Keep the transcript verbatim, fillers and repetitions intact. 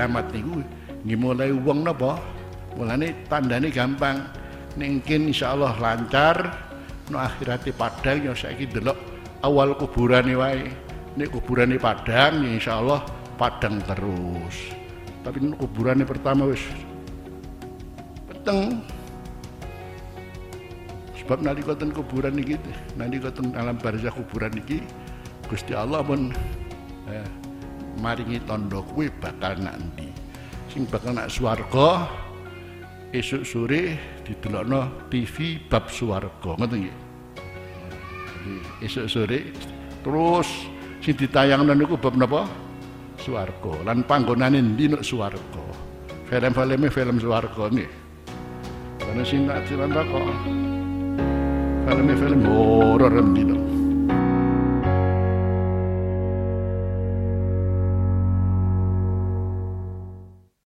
kiamat niku nggih mulai wong napa? Mulane tandane gampang. Ning kin insyaallah lancar, no akhirate padang ya saiki delok awal kuburane wae. Nek kuburane padang ya insyaallah padang terus. Tapi nek kuburane pertama wis peteng. Sebab nalika ten kuburan iki, nalika ten alam barzakh kuburan iki Gusti Allah pun eh, maringi tandha kuwi bakal nak endi. Sing bakal nak swarga esuk sore didelokno T V bab swarga, ngoten nggih. Esuk sore terus sing ditayangno niku bab napa? Swarga. Lan panggonane endi nek swarga? Film-filme film swarga nggih. Ana sing tak cerita kok. Film-film horor endi to.